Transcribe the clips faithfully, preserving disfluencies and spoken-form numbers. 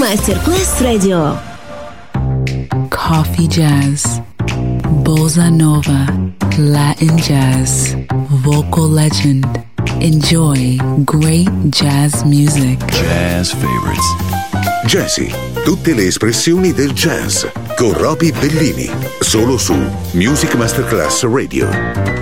Masterclass Radio. Coffee jazz, bossa nova, Latin jazz, vocal legend. Enjoy great jazz music. Jazz favorites. Jazzy, tutte le espressioni del jazz con Roby Bellini, solo su Music Masterclass Radio.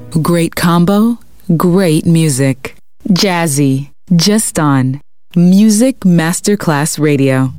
Great combo, great music. Jazzy, just on Music Masterclass Radio.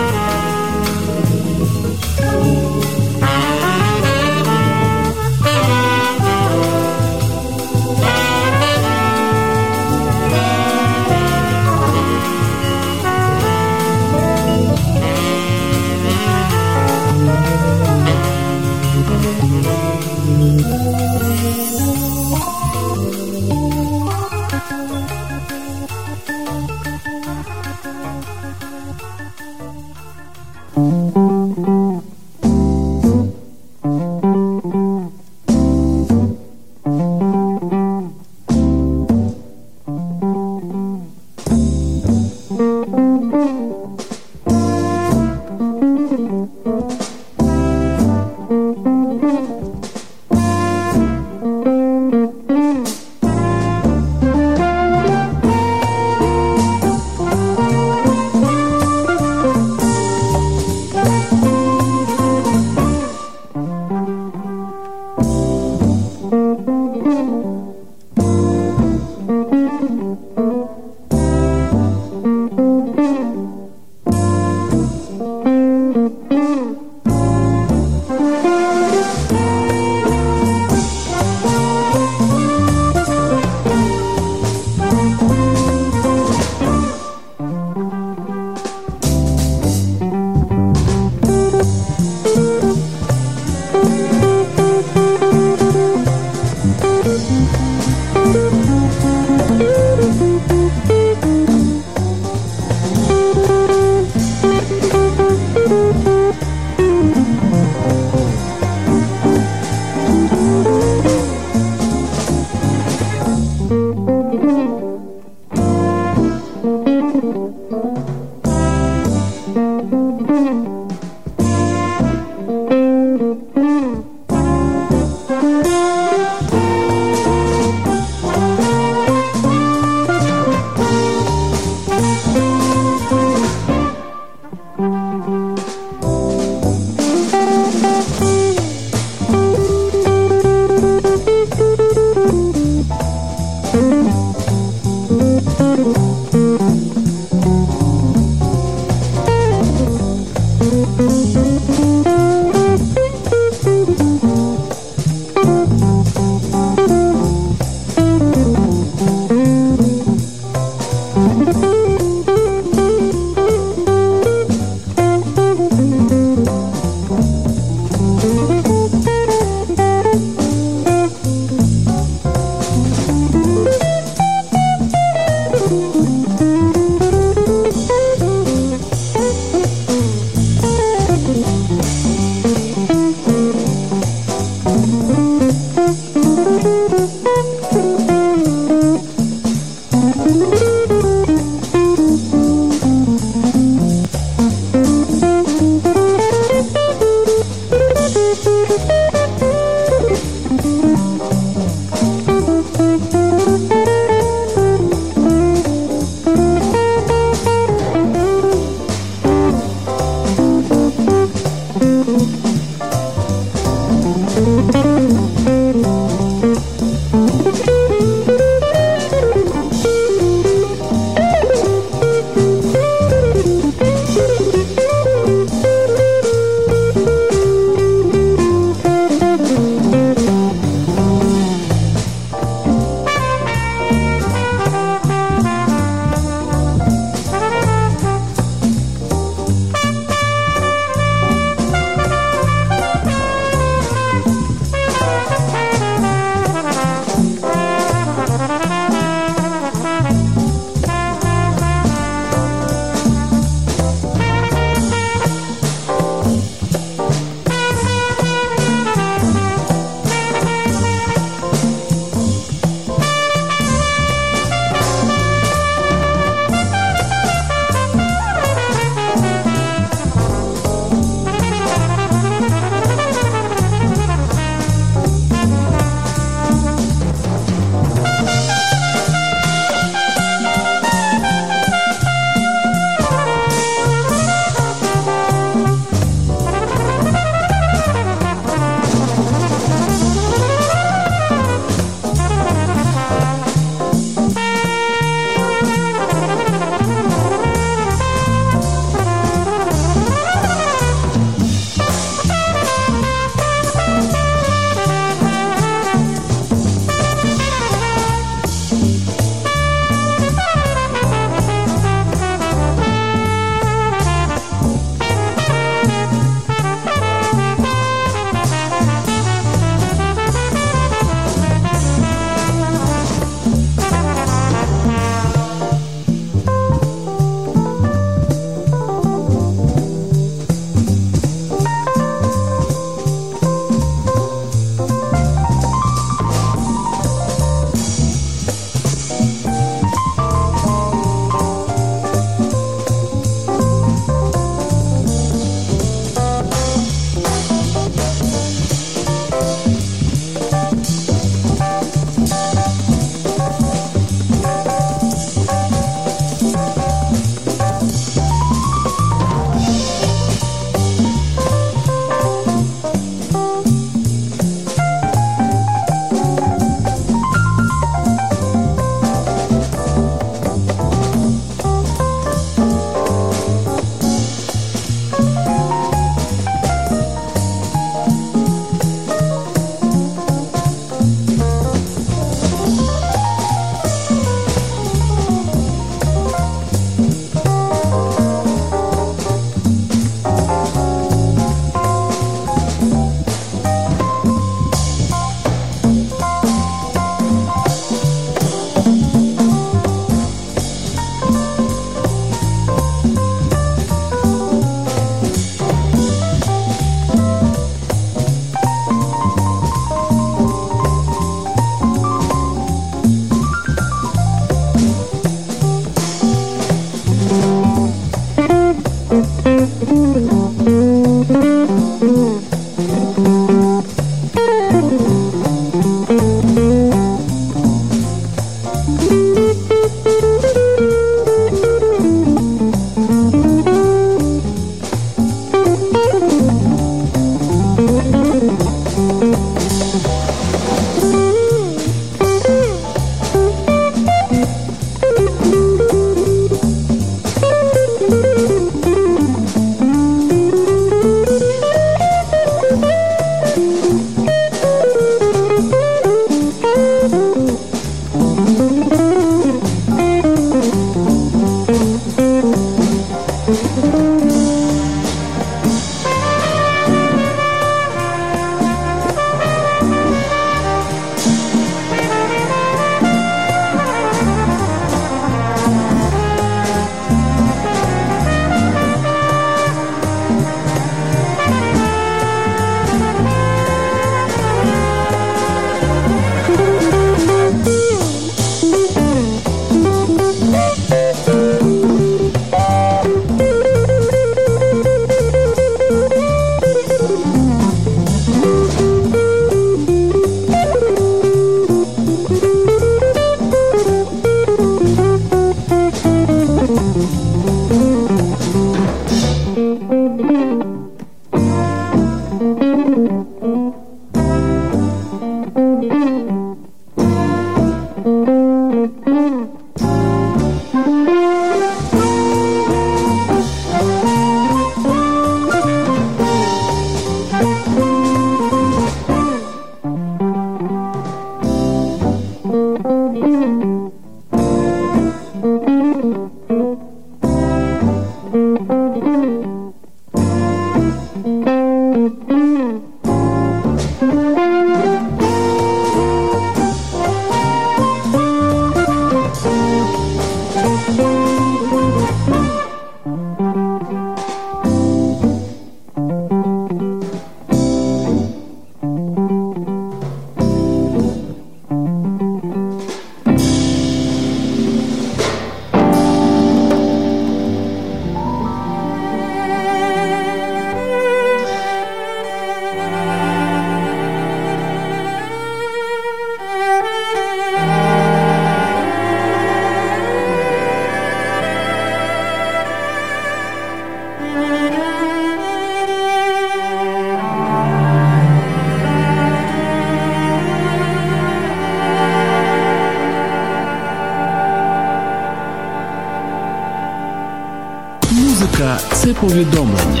Музика – це повідомлення.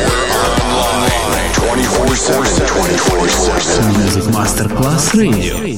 Music Masterclass Radio.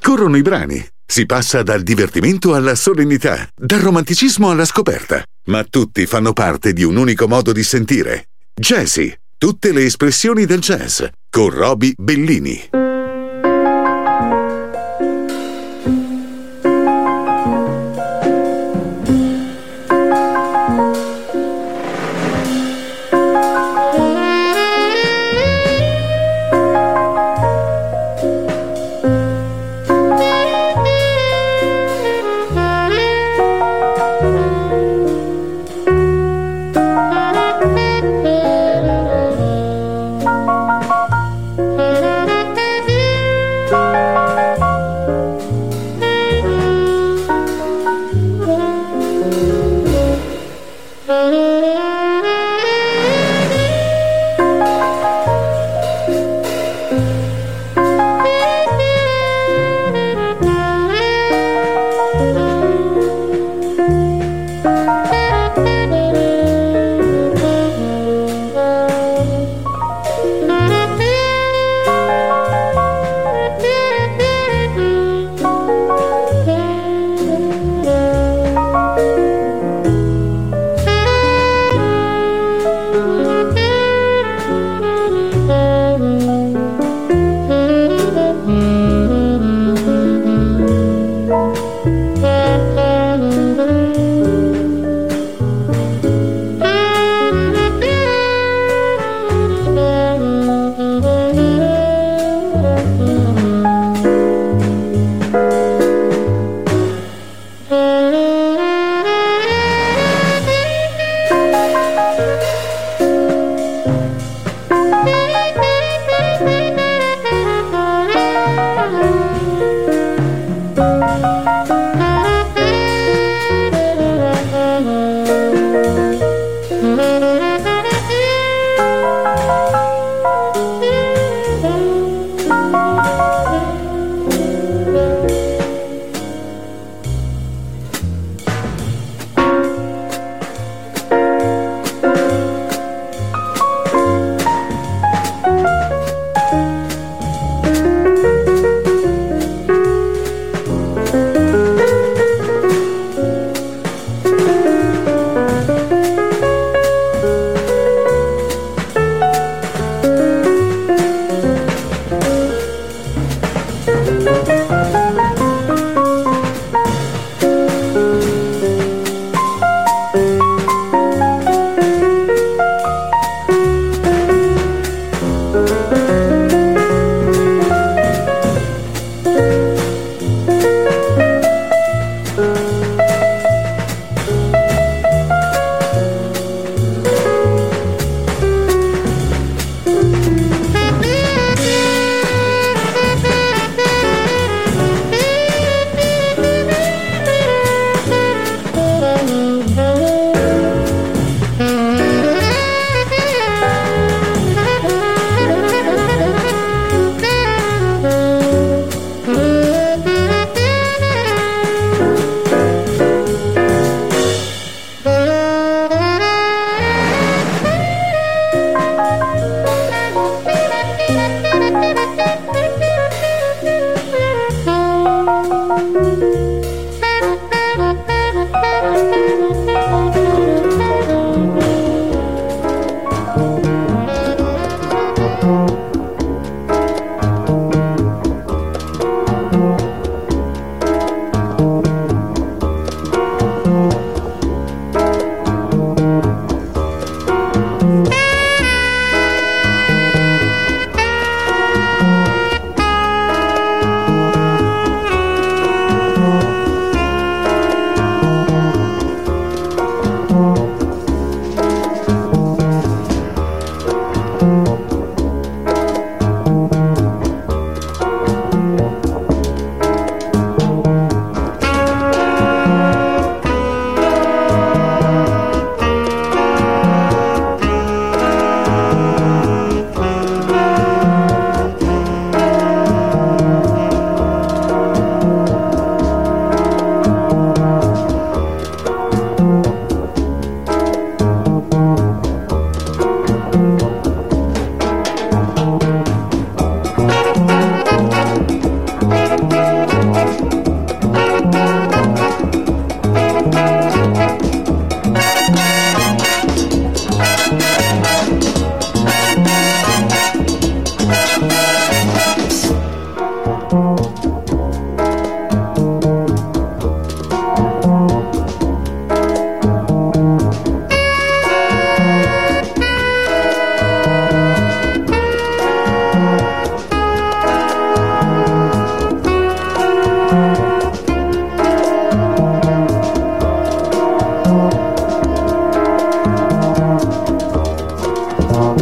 Scorrono i brani, si passa dal divertimento alla solennità, dal romanticismo alla scoperta, ma tutti fanno parte di un unico modo di sentire. Jazzy, tutte le espressioni del jazz, con Roby Bellini.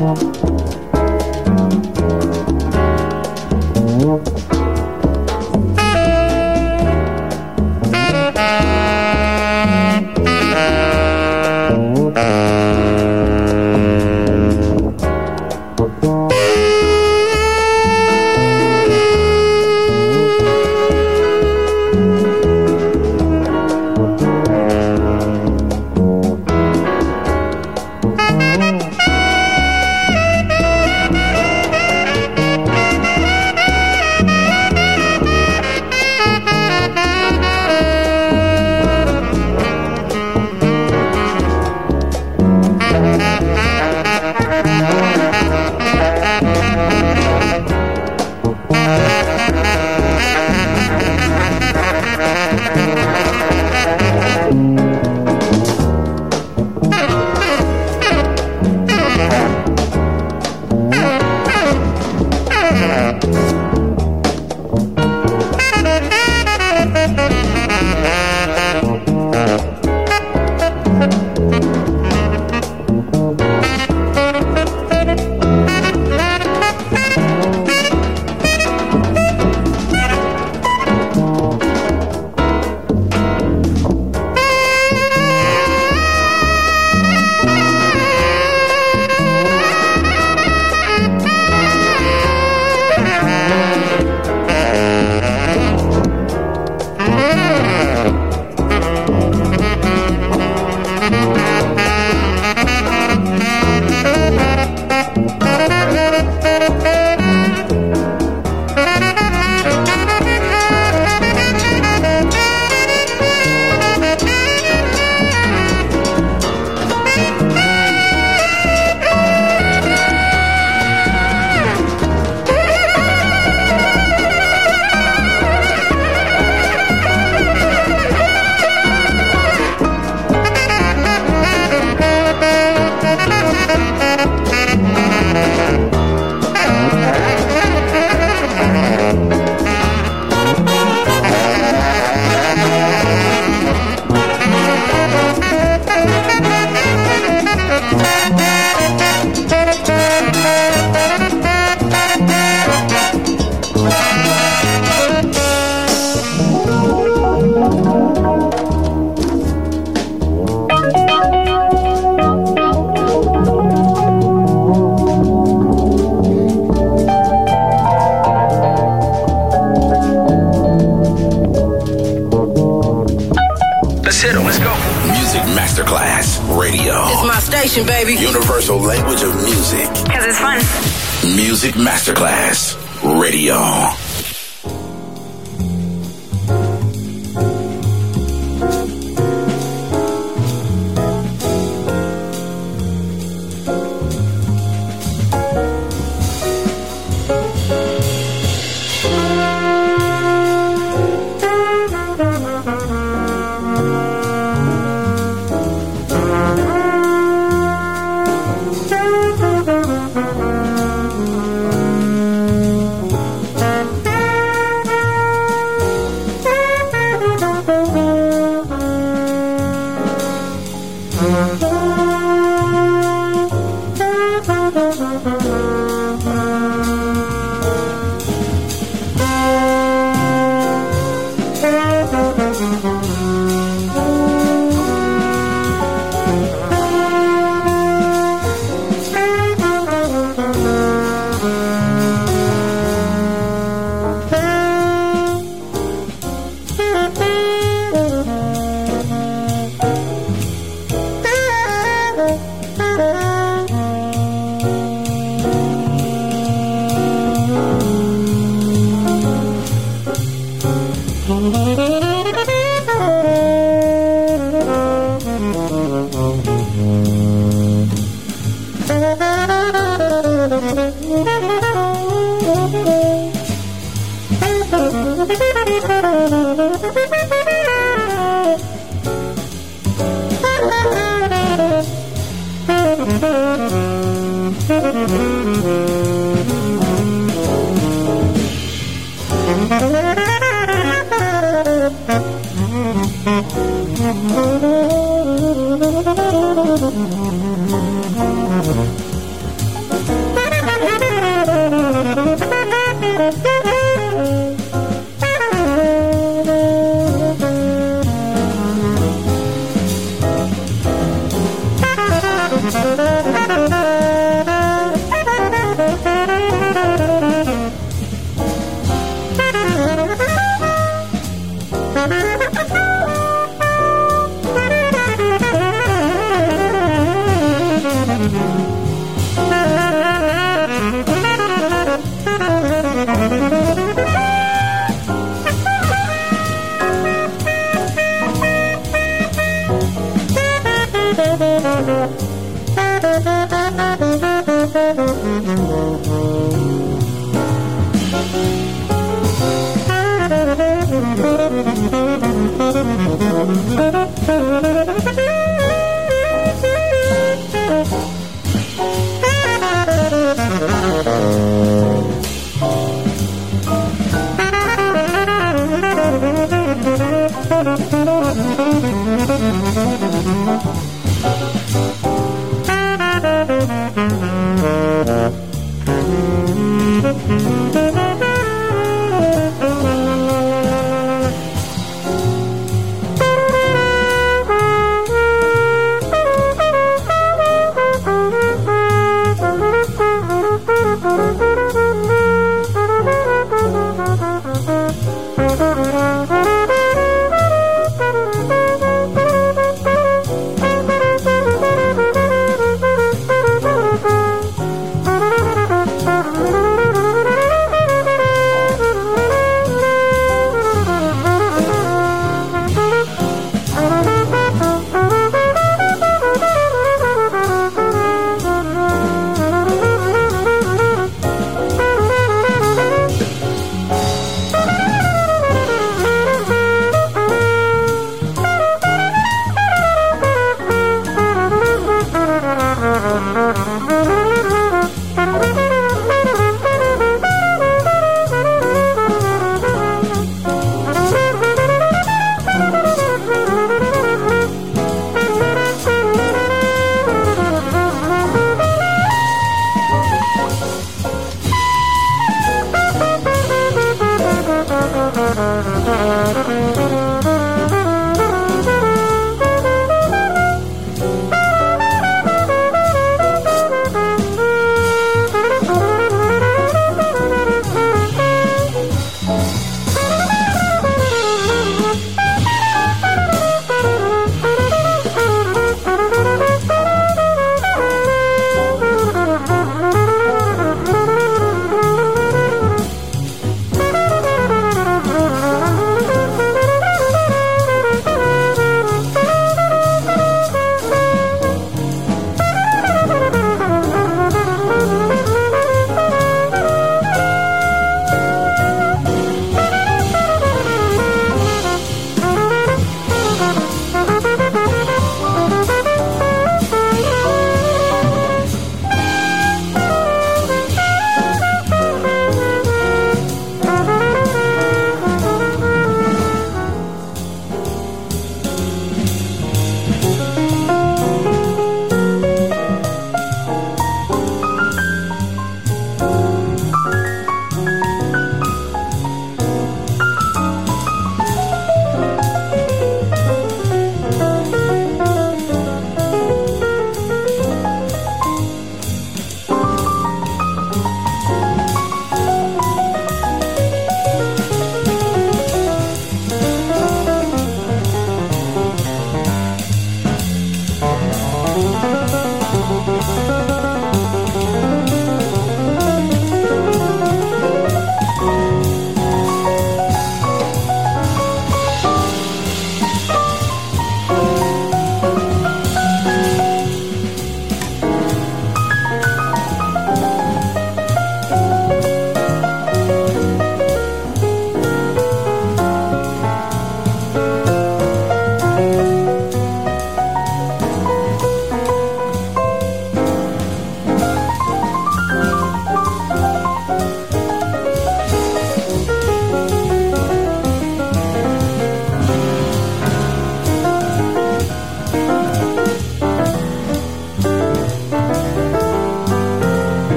Baby. Universal language of music. Because it's fun. Music Masterclass Radio.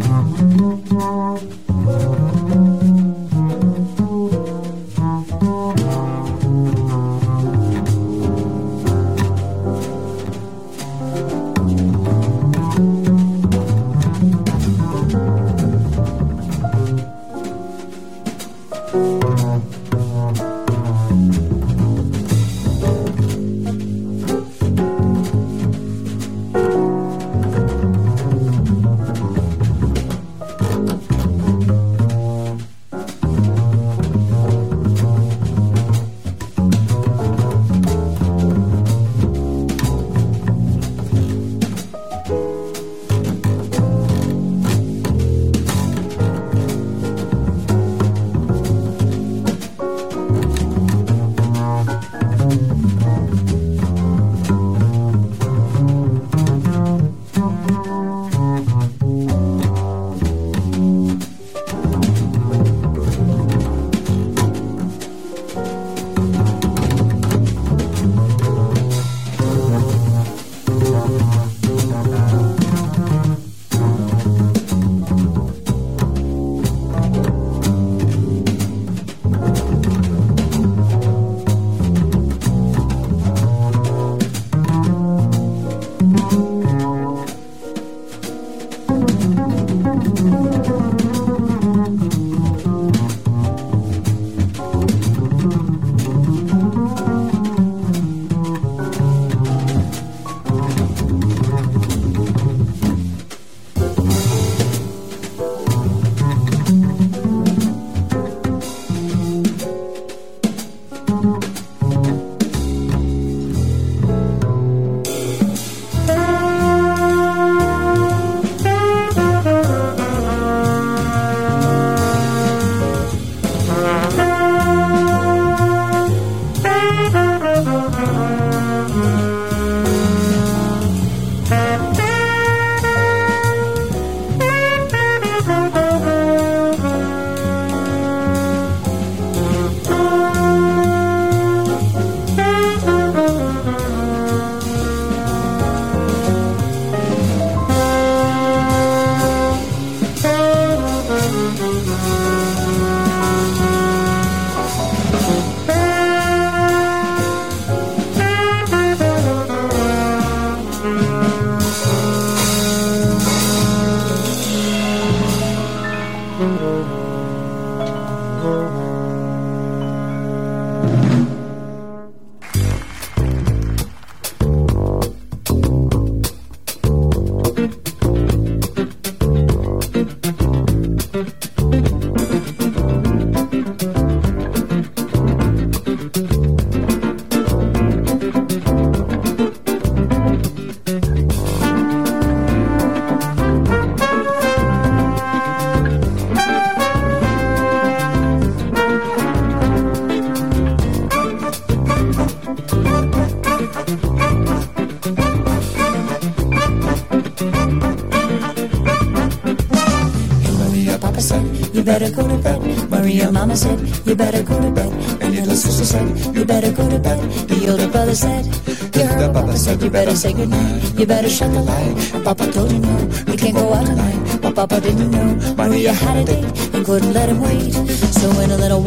better go to bed. Maria mama said, you better go to bed. And little sister said, you better go to bed. The older brother said, you heard Papa said, you better say goodnight. You better shut the light. And Papa told you no, you can't go out tonight. But Papa didn't know Maria had a date and couldn't let him wait. So in a little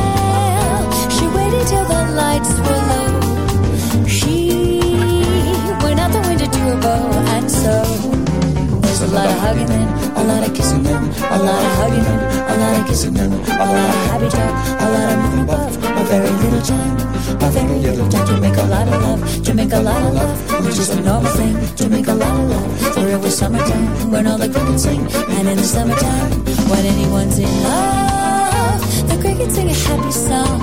while, she waited till the lights were low. She went out the window to her bow, and so there's a lot of hugging them, a lot of kissing them, a lot of hugging them, a lot of kissing them, a lot of happy talk, a lot of moon above, a very little time, a very little time to make a lot of love, to make a lot of love, which is a normal thing, to make a lot of love. For it was summertime, when all the crickets sing, and in the summertime, when anyone's in love, the crickets sing a happy song.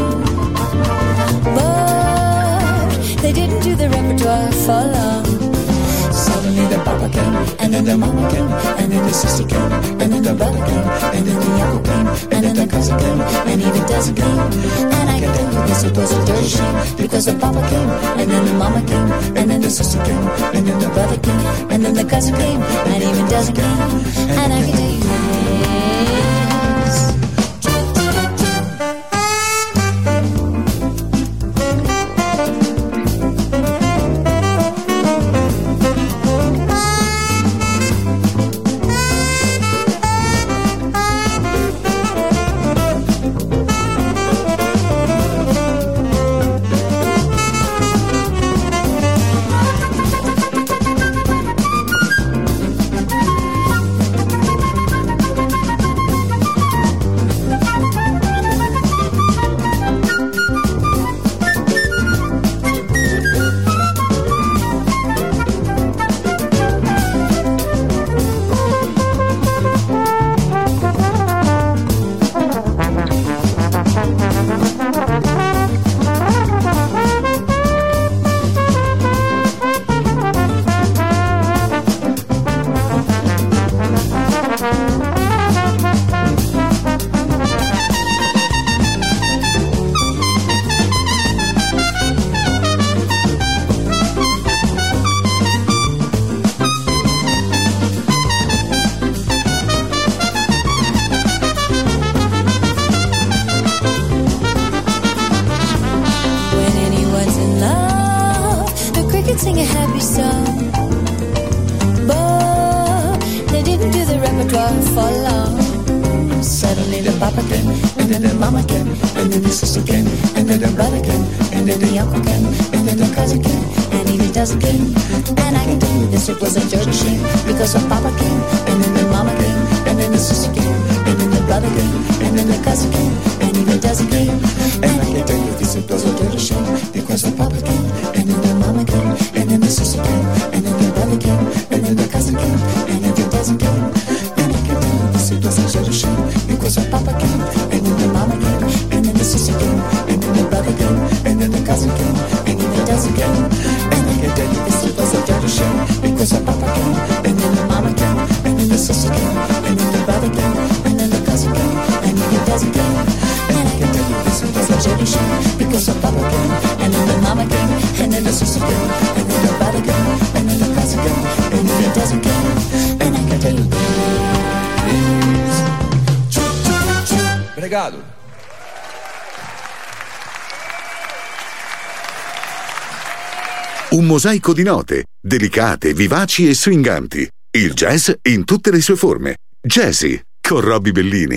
But they didn't do the repertoire for long. Suddenly the papa came, and then the mama came, and then the sister came, and then the brother came, and then the uncle came, and then the cousin came, and even cousin came. And I can tell you this, it was a dirty shame, because the papa came, and then the mama came, and then the sister came, and then the brother came, and then the cousin came, and even cousin came. And I can tell you this. for long. Suddenly the papa came, and then the mama came, and then the sister came, and then the brother came, and then the uncle came, and then the cousin came, and even dozen came. And I can tell you this, it was a dirty shame, because the papa came, and then the mama came, and then the sister came, and then the brother came, and then the cousin came, and even dozen came. And I can tell you this, it was a dirty shame, because the papa came, and then the mama came, and then the sister came, and then the brother came, and then the cousin came, and even dozen came. And I can tell you this, it was a dirty shame, because the papa came, and then the mama came, and then the sister came, and then the brother came, and then the cousin came, and then the dozen came. And I can tell you this, it was a dirty shame, because the papa came, and then the mama came, and then the sister came, and then the brother came, and then the cousin came, and then the dozen came. And I can tell you this, it was a dirty shame, because the papa came, and then the mama came, and then the sister came, and then the brother came, and then the cousin came, and then the dozen came. And I can tell you this. Obrigado. Un mosaico di note, delicate, vivaci e swinganti. Il jazz in tutte le sue forme. Jazzy, con Robbie Bellini.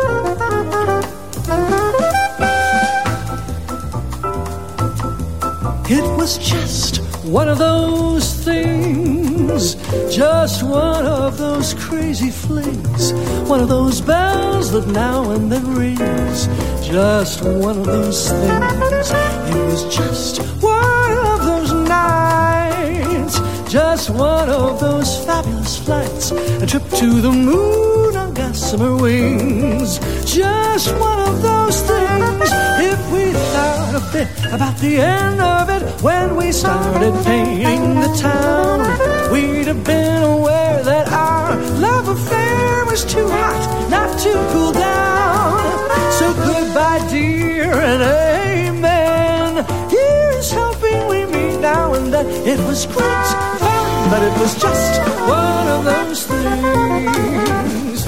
It was just one of those things, just one of those crazy flings, one of those bells that now and then rings, just one of those things. It was just one of those nights, just one of those fabulous flights, a trip to the moon on gossamer wings, just one of those things. If we thought a bit about the end of it when we started painting the town, we'd have been aware that our love affair was too hot not to cool down. So goodbye dear and amen, here's hoping we meet now and then. It was great fun, but it was just one of those things.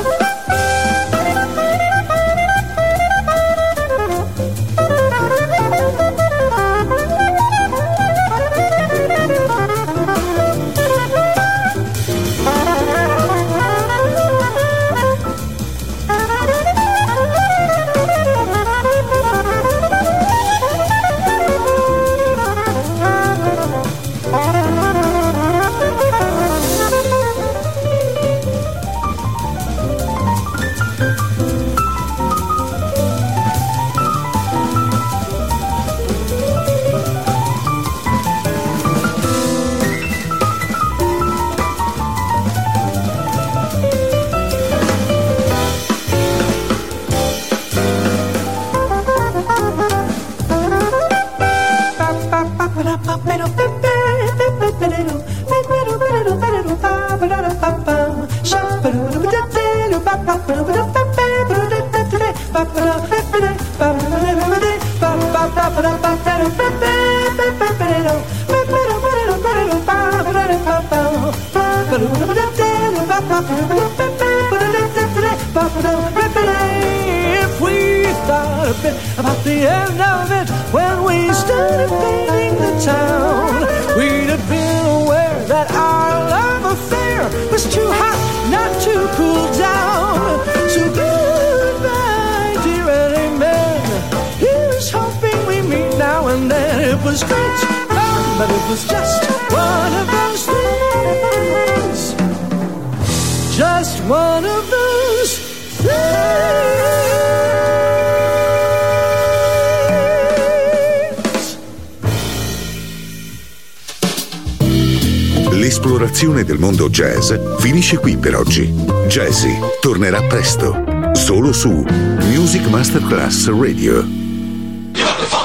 If we thought a bit about the end of it when we started painting the town, we'd have been aware that our love affair was too hot not to cool down. So goodbye, dear, and amen. Here's hoping we meet now and then. It was great fun, but it was just one of those things. Just one of those things. L'esplorazione del mondo jazz finisce qui per oggi. Jazzy tornerà presto, solo su Music Masterclass Radio.